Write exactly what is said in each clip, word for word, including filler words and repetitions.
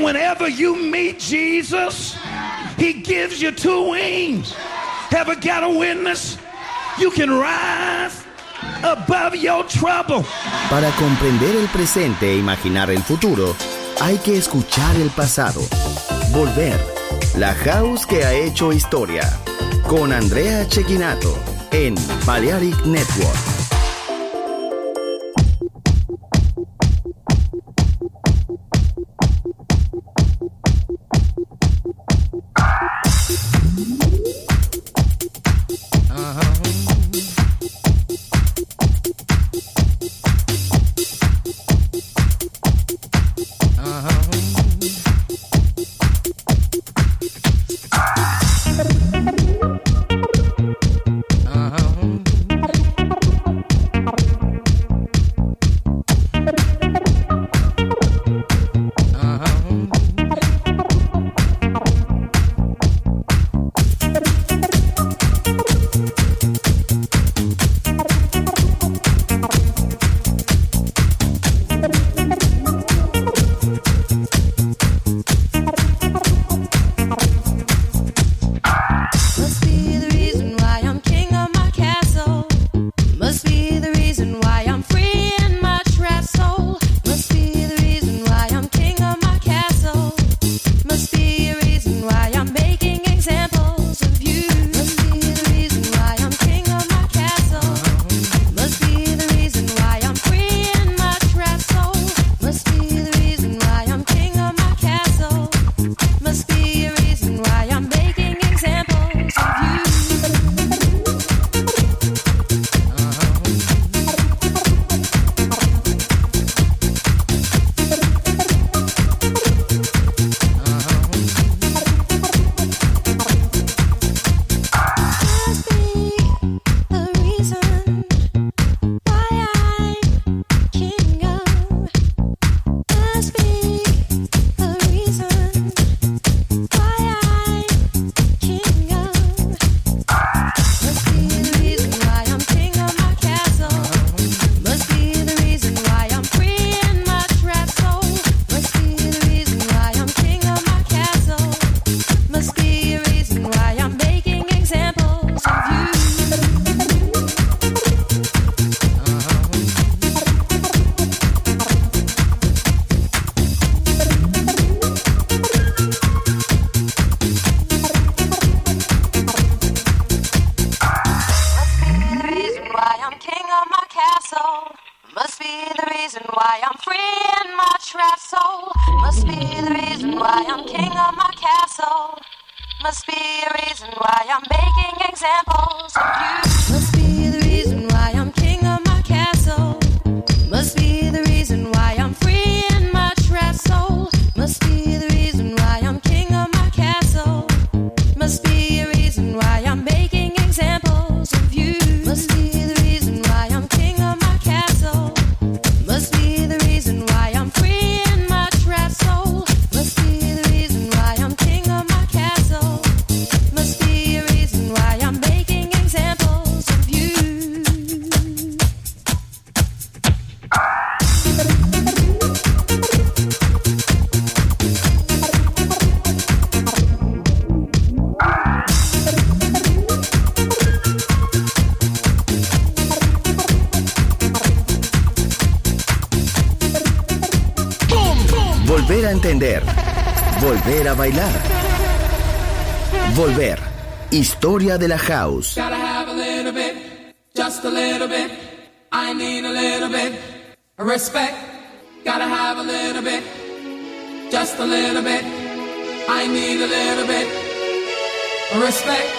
And whenever you meet Jesus, he gives you two wings. Ever got a witness? You can rise above your trouble. Para comprender el presente e imaginar el futuro, hay que escuchar el pasado. Volver. La House que ha hecho historia. Con Andrea Cecchinato en Balearic Network. Volver a entender. Volver a bailar. Volver. Historia de la House. Gotta have a little bit, just a little bit. I need a little bit of respect. Gotta have a little bit, just a little bit. I need a little bit of respect.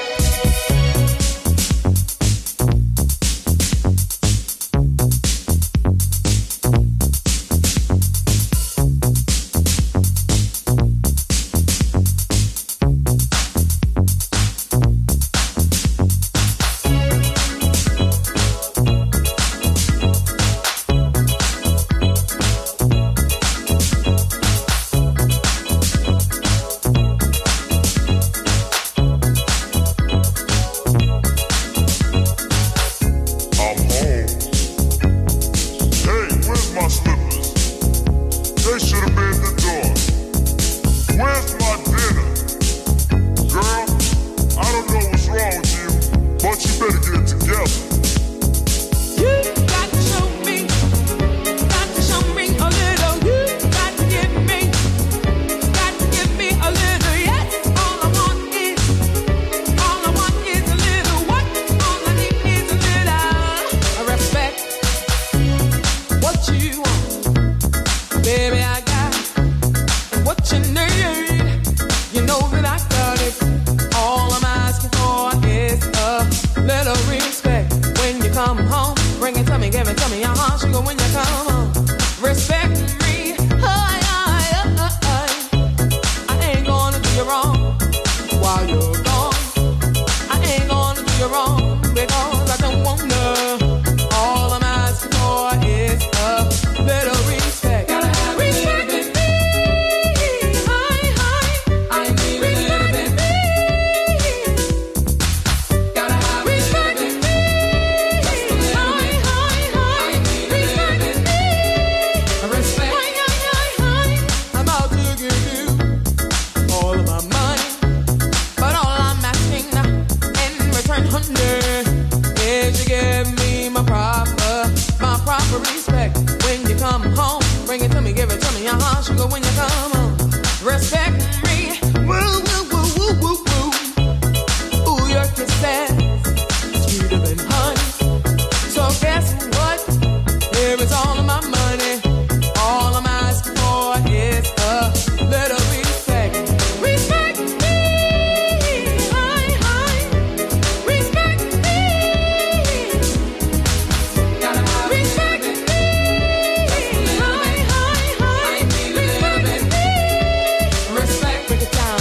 Baby, I got what you need. You know that I got it. All I'm asking for is a little respect. When you come home, bring it to me, give it to me. Uh-huh, sugar, when you come home. Respect me. I, I, I, I, I ain't gonna do you wrong while you're gone. I ain't gonna do you wrong because I don't want to. All I'm asking for is a little respect. Gotta have respect a little bit. Me. Hi, hi. I need respect a little bit. Me. Gotta have respect a little bit. Just a little bit. Hi, hi, hi. I need respect a little bit. Me. Respect. Hi, hi, hi, hi. I'm out to give you all of my money, but all I'm asking in return, honey, is you give me my proper, my proper respect. When you come home, bring it to me, give it to me, uh-huh, sugar, when you come home. Respect me, woo, woo, woo, woo, woo, woo. Ooh, your kisses, sweeter than honey. So guess what? Here is all of my money. All I'm asking for is a little respect. Respect me, hi, hi. Respect me. Gotta have respect me, hi, hi, hi. Respect me. Respect, break it down.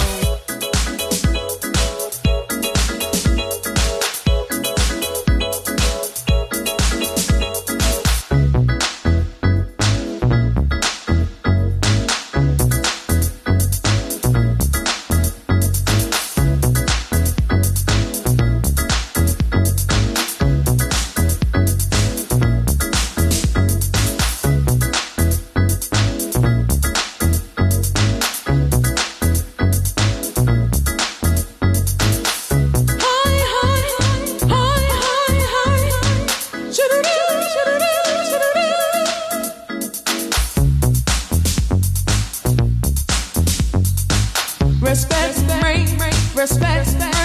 Hi, hi, hi, hi, hi. Shoo-doo-doo, shoo-doo-doo, shoo-doo-doo. Respect me, respect me.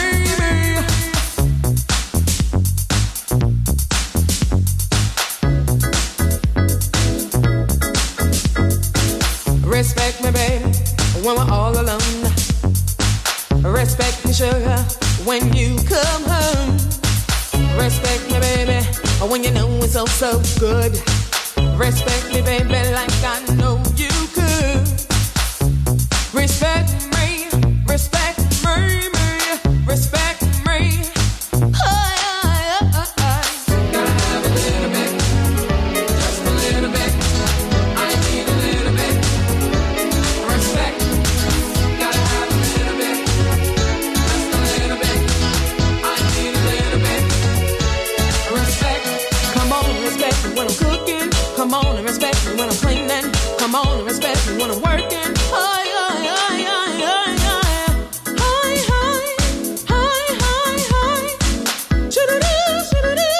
Respect me, baby, when we're all alone. Respect me, sugar, when you come home. Respect me, baby, when you know it's all so good. Respect me, baby, like I know you could. Respect me, respect me, me, respect me. Hi, hi, hi, hi. Gotta have a little bit, just a little bit. I need a little bit. Respect. Gotta have a little bit, just a little bit. I need a little bit. Respect. Come on and respect me when I'm cooking. Come on and respect me when I'm cleaning. Come on and respect me when I'm working. Hi, hi, hi, hi, hi, hi. Hi, hi, hi, hi, hi. Shoo-doo-doo, shoo-doo-doo.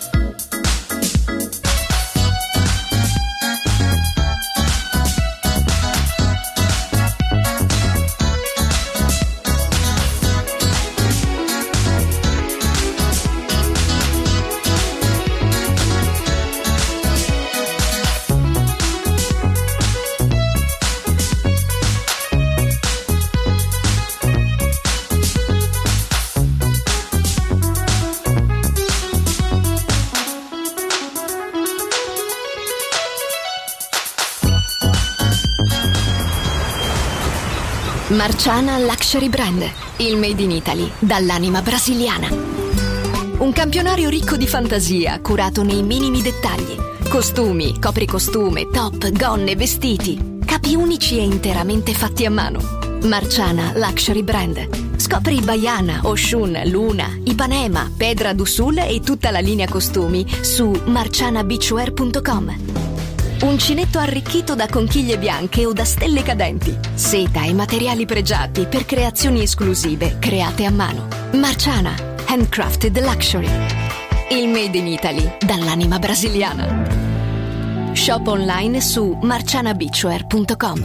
Marciana Luxury Brand, il made in Italy dall'anima brasiliana. Un campionario ricco di fantasia, curato nei minimi dettagli. Costumi, copricostume, top, gonne, vestiti. Capi unici e interamente fatti a mano. Marciana Luxury Brand. Scopri Baiana, Oshun, Luna, Ipanema, Pedra do Sul e tutta la linea costumi su marciana beachwear punto com. Uncinetto arricchito da conchiglie bianche o da stelle cadenti. Seta e materiali pregiati per creazioni esclusive create a mano. Marciana, handcrafted luxury. Il made in Italy dall'anima brasiliana. Shop online su marciana beachwear punto com.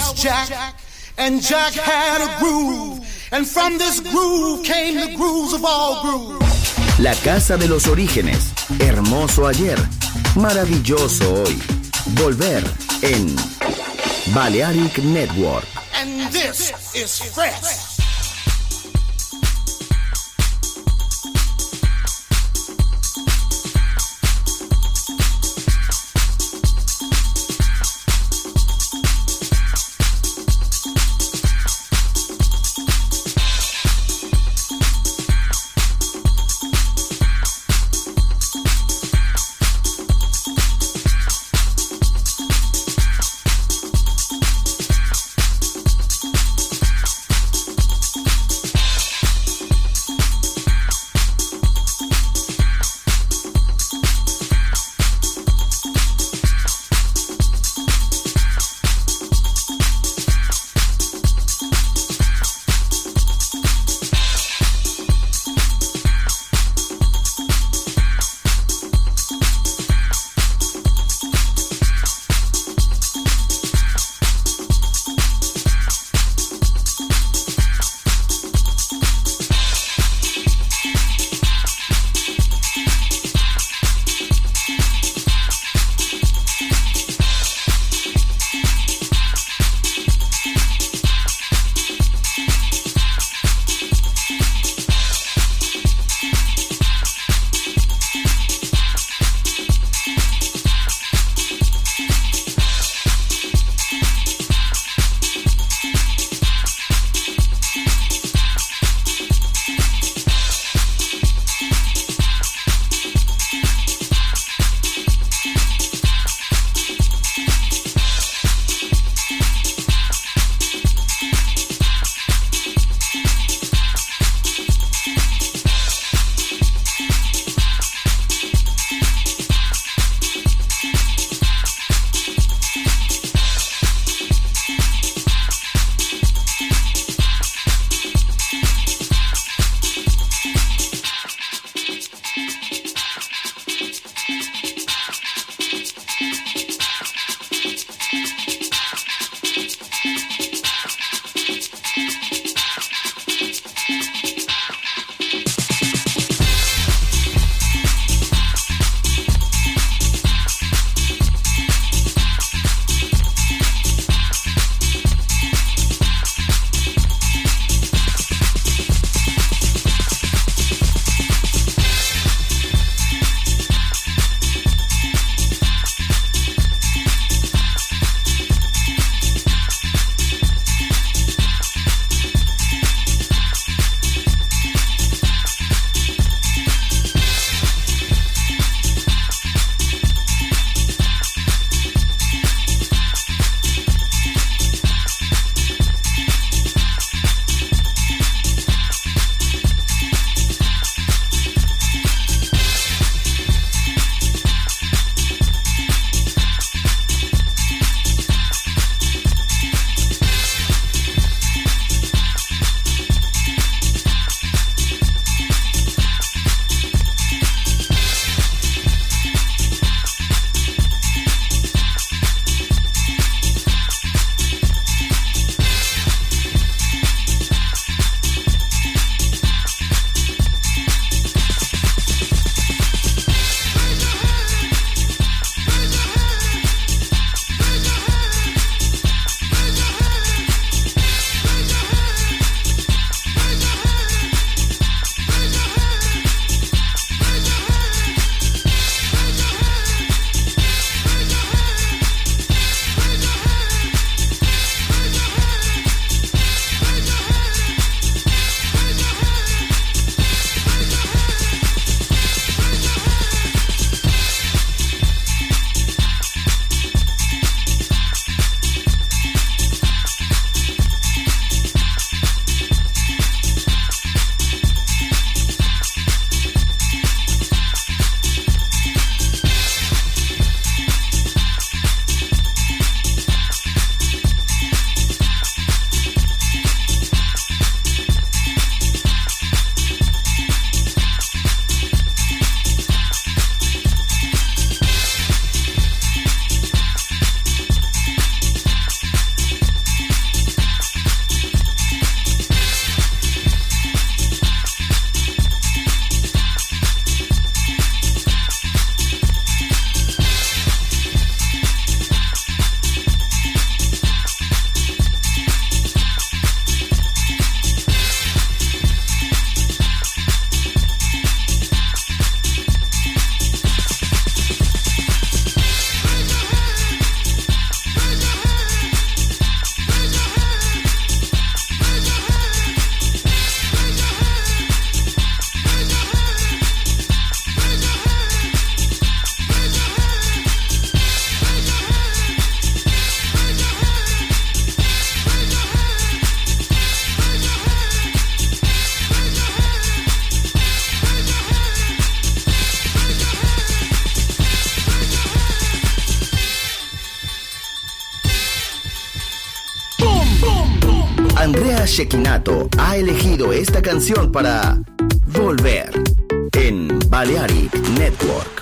was Jack, and Jack had a groove, and from this groove came the grooves of all grooves. La casa de los orígenes, hermoso ayer, maravilloso hoy. Volver en Balearic Network. And this is fresh. Shekinato ha elegido esta canción para volver en Balearic Network.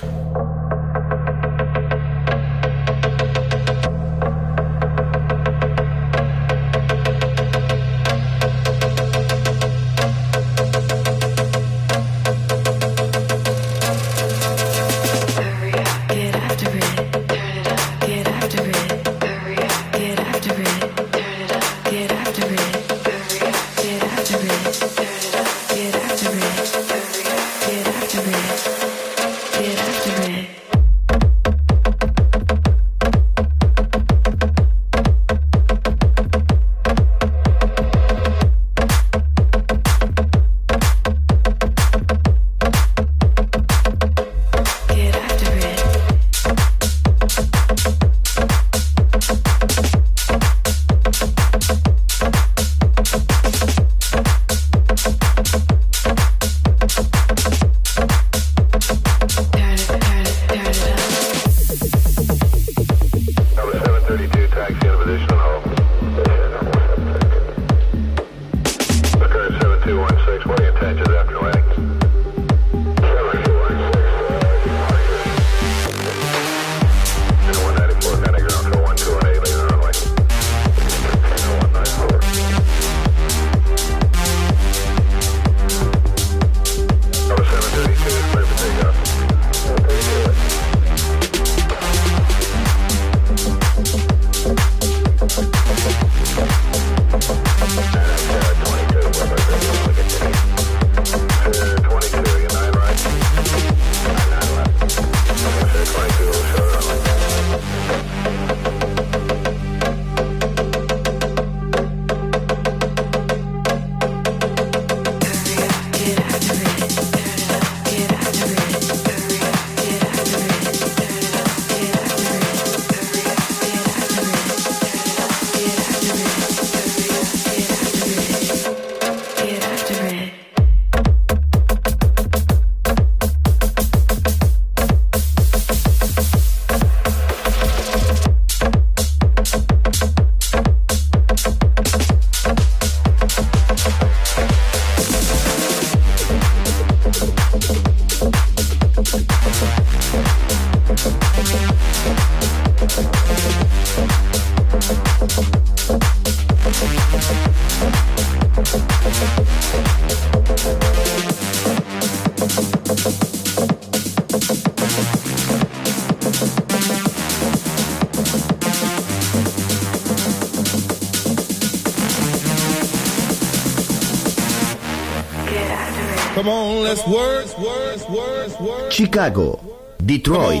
Chicago, Detroit,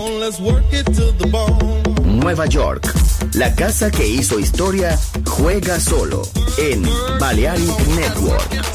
Nueva York. La casa que hizo historia juega solo en Balearic Network.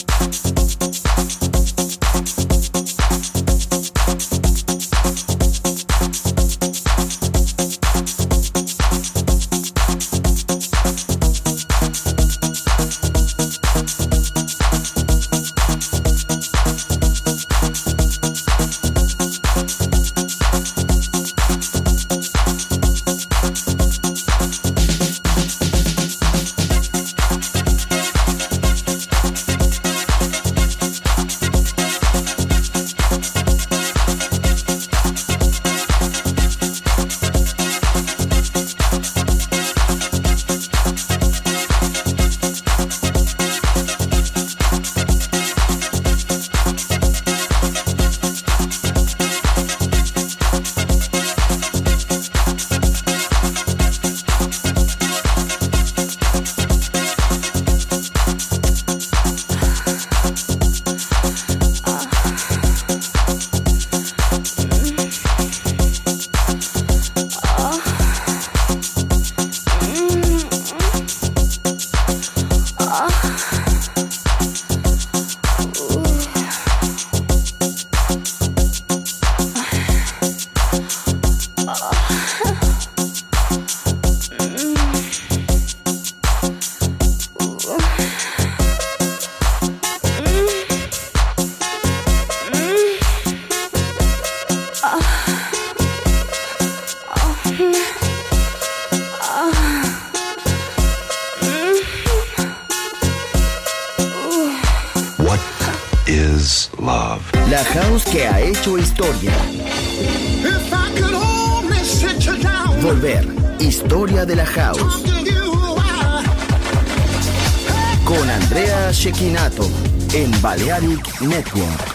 is love. La house que ha hecho historia. If I could only sit you down. Volver. Historia de la house. Con Andrea Cecchinato en Balearic Network.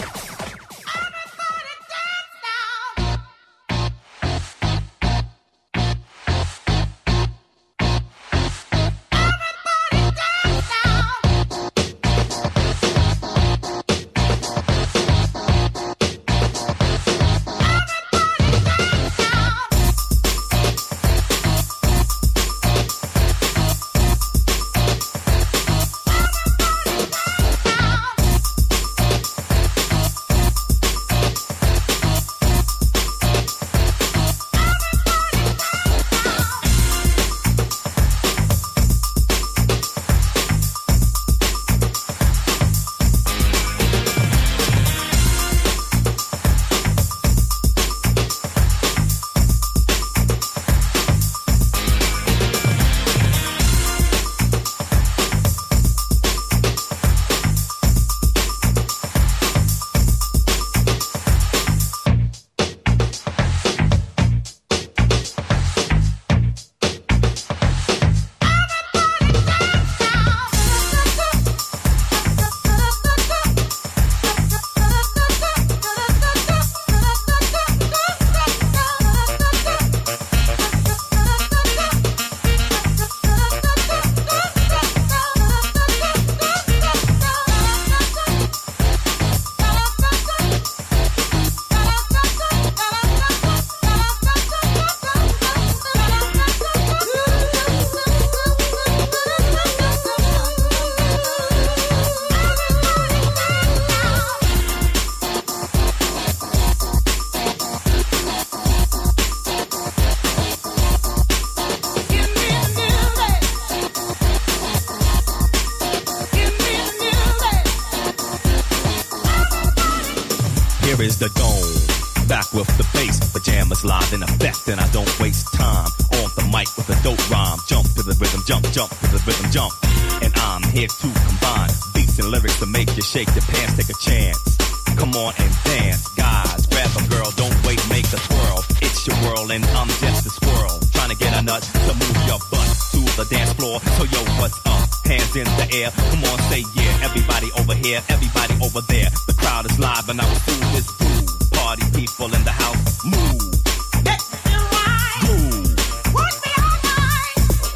Is the dome back with the bass, pajamas live in effect, and I don't waste time on the mic with a dope rhyme. Jump to the rhythm, jump, jump to the rhythm, jump, and I'm here to combine beats and lyrics to make you shake your pants. Take a chance, come on and dance, guys. Grab a girl, don't wait, make a twirl. It's your world, and I'm just a squirrel trying to get a nut to move your butt to the dance floor. So yo, what's up? Hands in the air, come on, say yeah. Everybody over here, everybody over there. The crowd is live and our food is food. Party people in the house, move. Get me right. Groove. Put me all night.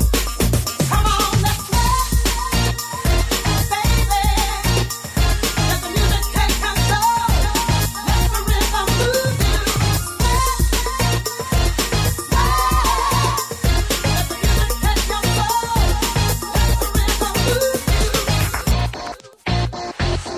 Come on, let's play, baby. Let the music take control. Let the rhythm move you. Let the music take control. Let the rhythm move you.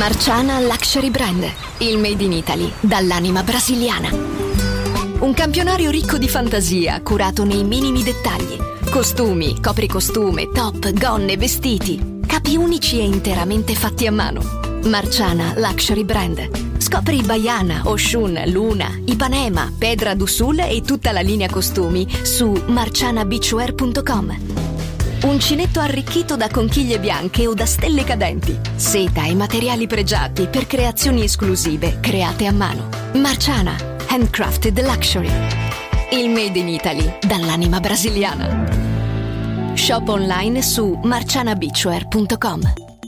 Marciana Luxury Brand, il made in Italy dall'anima brasiliana. Un campionario ricco di fantasia, curato nei minimi dettagli. Costumi, copricostume, top, gonne, vestiti. Capi unici e interamente fatti a mano. Marciana Luxury Brand. Scopri Baiana, Oshun, Luna, Ipanema, Pedra do Sul e tutta la linea costumi su marciana beachwear punto com. Uncinetto arricchito da conchiglie bianche o da stelle cadenti. Seta e materiali pregiati per creazioni esclusive create a mano. Marciana, handcrafted luxury. Il made in Italy dall'anima brasiliana. Shop online su marciana beachwear punto com.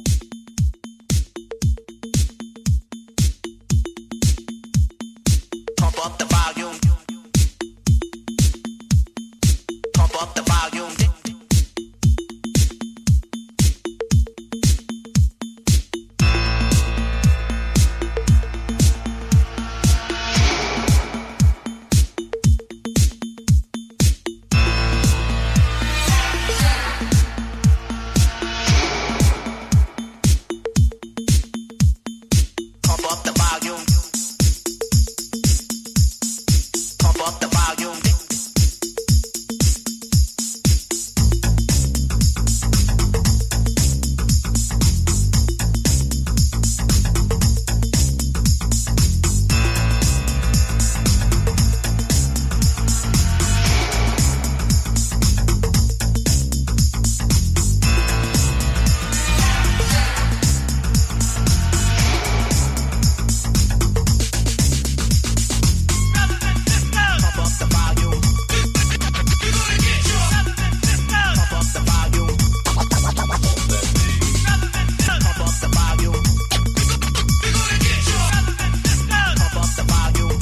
Pump up the volume. Pump up the volume. Pump up the volume. Pump up the volume. Pump up the volume. Pump up the volume. Pump up the volume. Pump up the volume.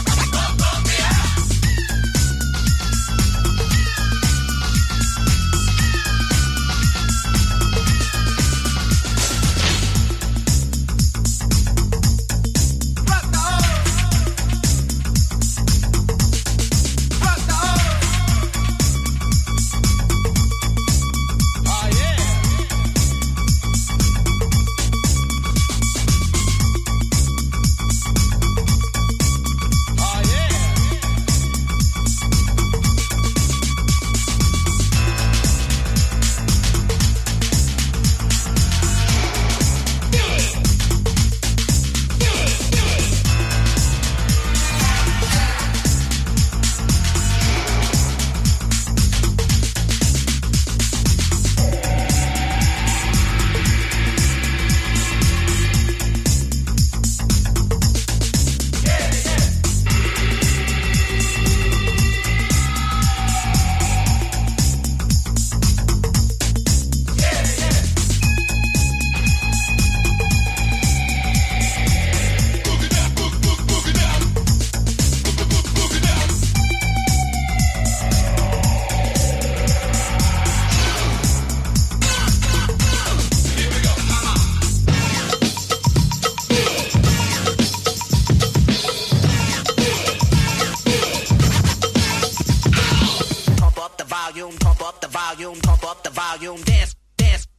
Pump up the volume. Pump up the volume. Pump up the volume. Dance, dance.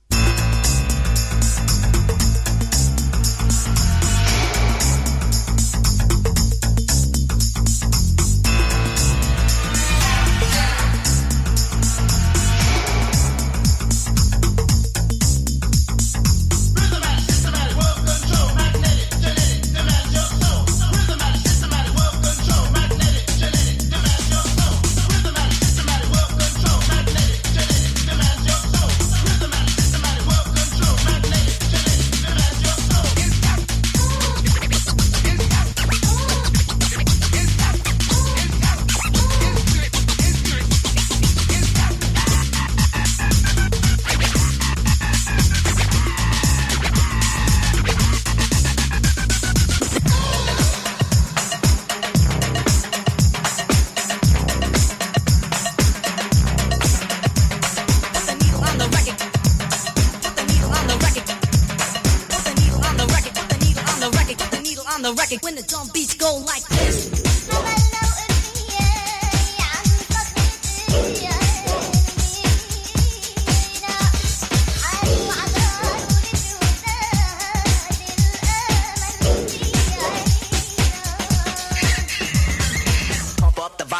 the record when the drum beats go like this.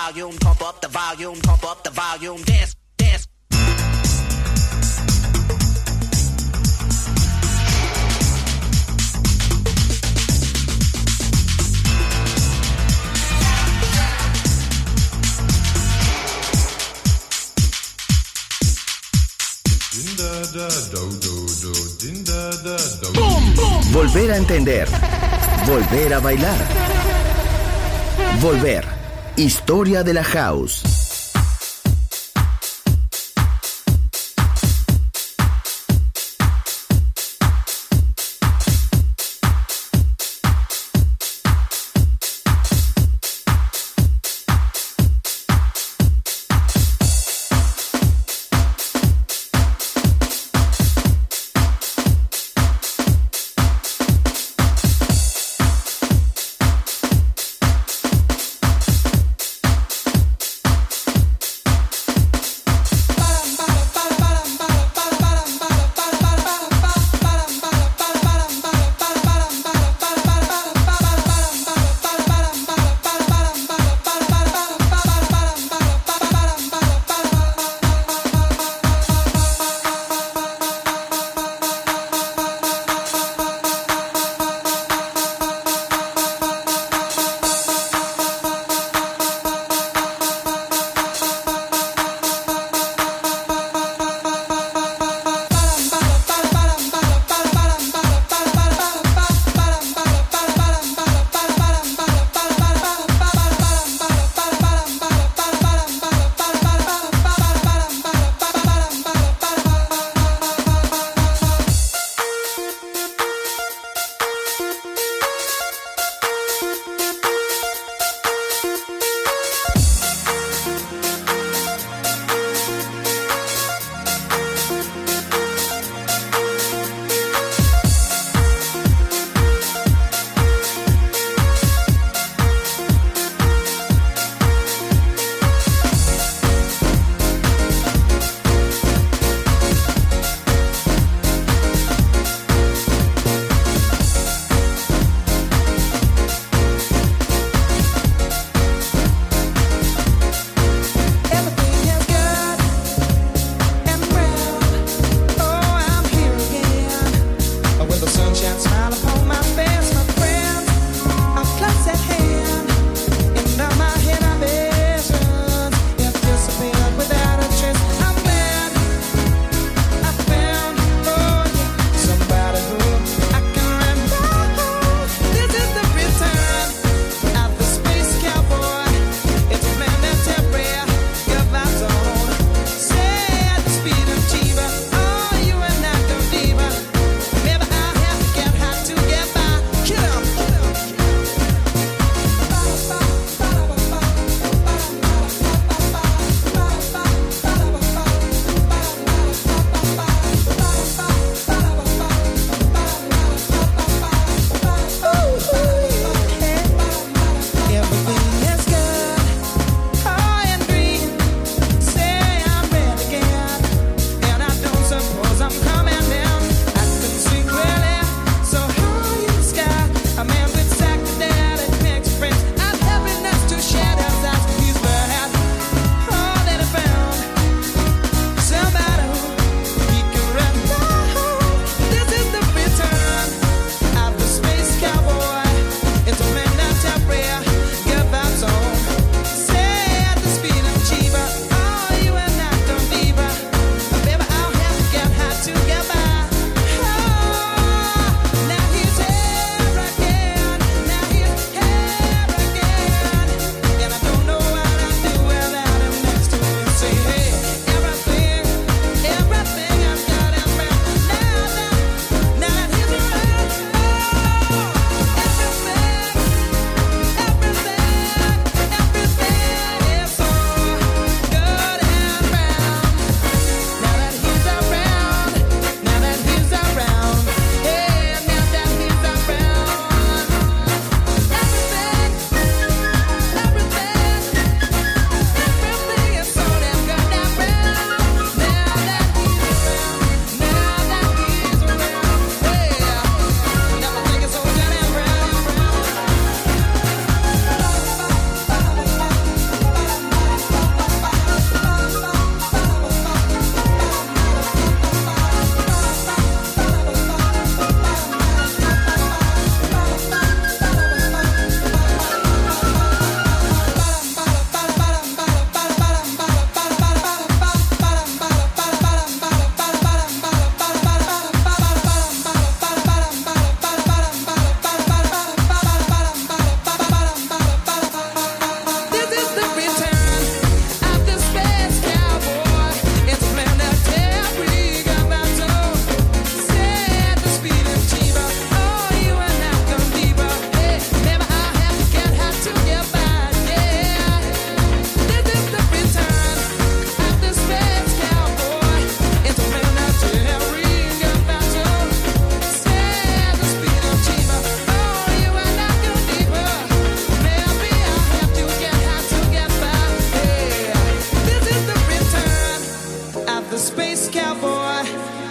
volume, pump up the volume, pump up the volume, dance, dance. Volver a entender. Volver a bailar. Volver. Historia de la house.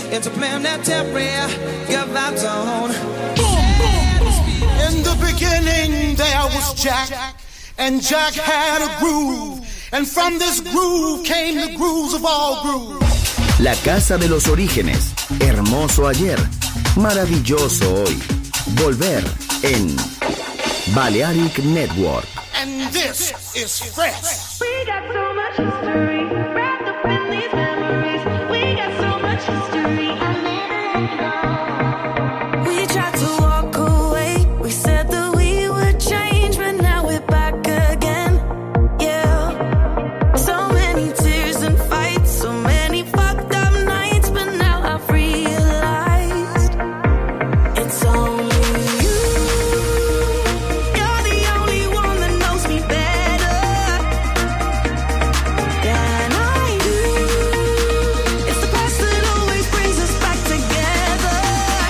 into planetary, your vibes on. In the beginning there was Jack, and Jack had a groove, and from this groove came the grooves of all grooves. La casa de los orígenes, hermoso ayer, maravilloso hoy. Volver en Balearic Network. And this is fresh. We got so much history wrapped up in these memories. We got so much history. I'll never let go. We tried to walk away. We said that we would change, but now we're back again. Yeah. So many tears and fights, so many fucked up nights, but now I've realized it's only you. You're the only one that knows me better than I do. It's the past that always brings us back together.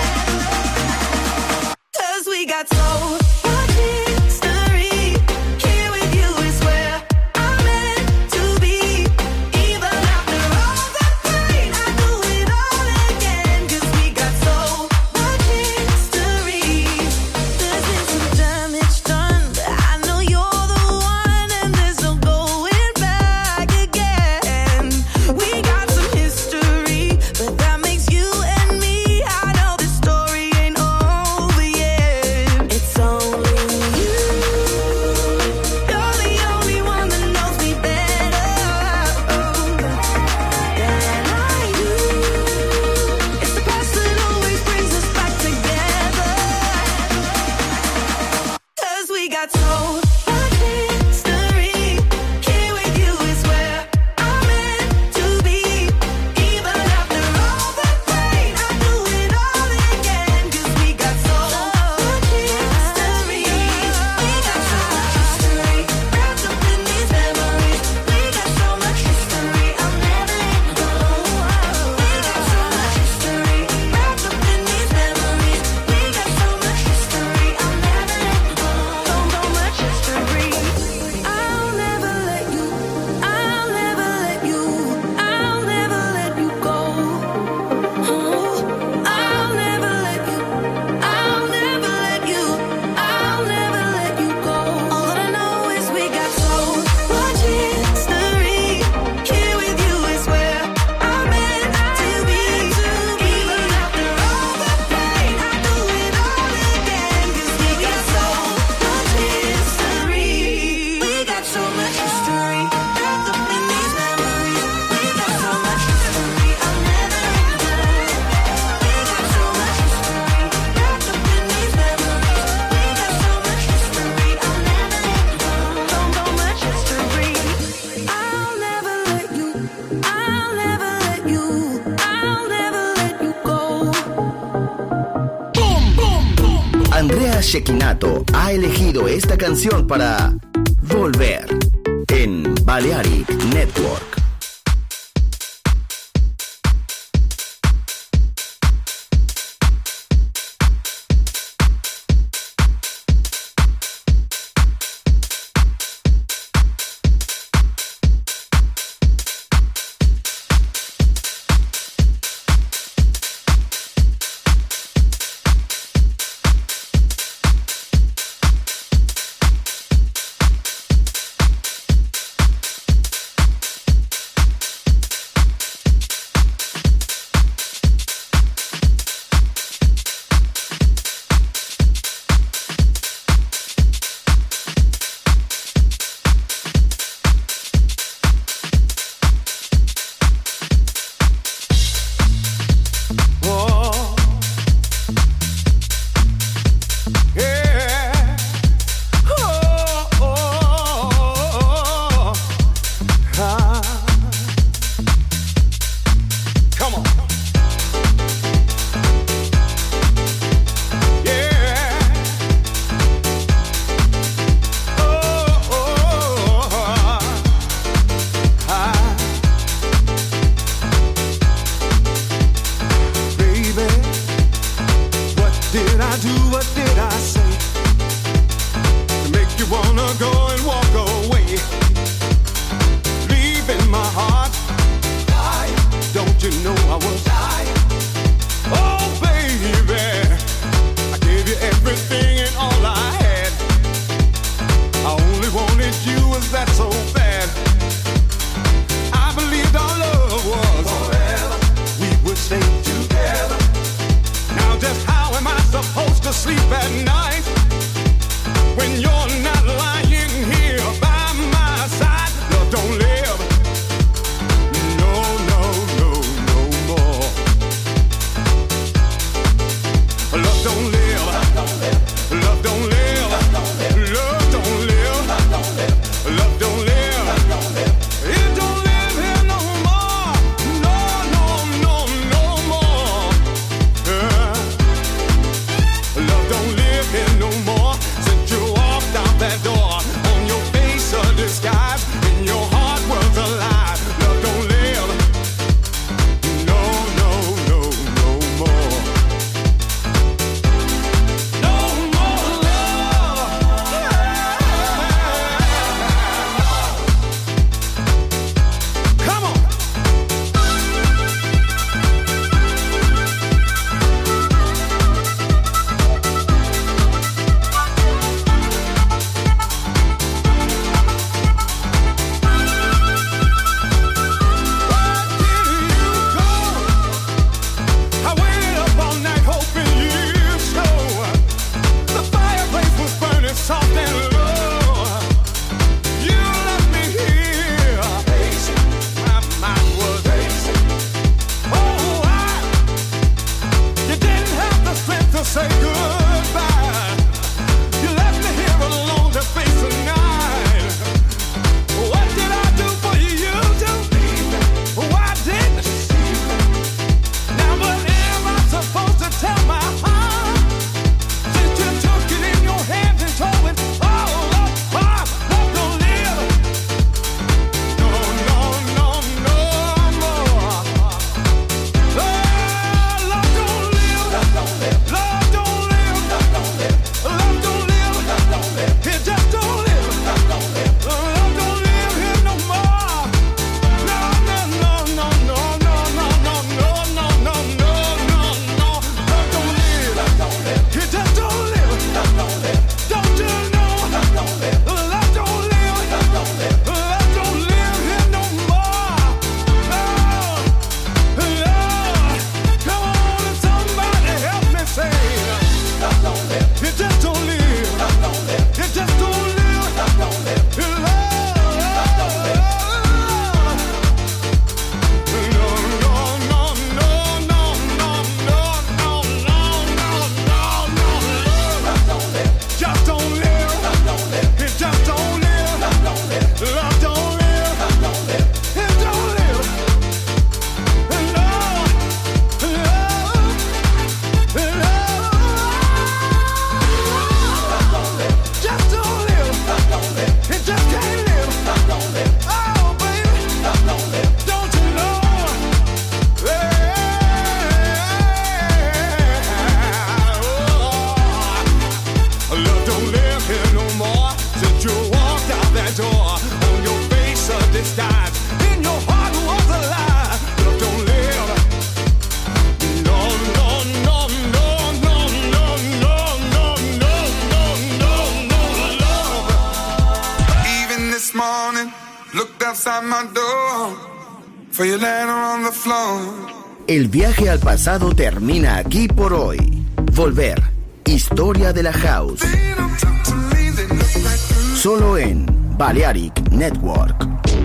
'Cause we got so much history. Here with you is where I'm meant to be. Even after all the pain, I do it all again. 'Cause we got so much history. There's been some damage done, but I know you're the one, and there's no going back again. We got some history, but that makes you and me. I know this story ain't over yet. It's only you. You're the only one that knows me better than I do. It's the past that always brings us back together. 'Cause we got so much history. Here with you is where I'm meant to be. Even after all the pain, I do it all again. 'Cause we got so much history. We got so much history wrapped up in these memories. We got so much history. I'll never let go. We got so much history wrapped up in these memories. We got so much history. I'll never let go. So, so much history. I'll never let you. I'll never let you. I'll never let you go. Oh, I'll never let you. I'll never let you. I'll never let you go. All that I know is we got so much history. Here with you is where I'm meant to be. Even after all the pain, I do it all again. 'Cause we got so much history. We got so much history wrapped up in these memories. We got so much history. I'll never let go. We got so much history wrapped up in these memories. We got so much history. I'll never let go. So, so much history. I'll never let you. I'll never let you. I'll never let you go. Andrea Cecchinato ha elegido esta canción para Volver en Balearic Network. this morning, looked outside my door for your letter on the floor. El viaje al pasado termina aquí por hoy. Volver. Historia de la House. They don't talk to me, they look like Solo en Balearic Network.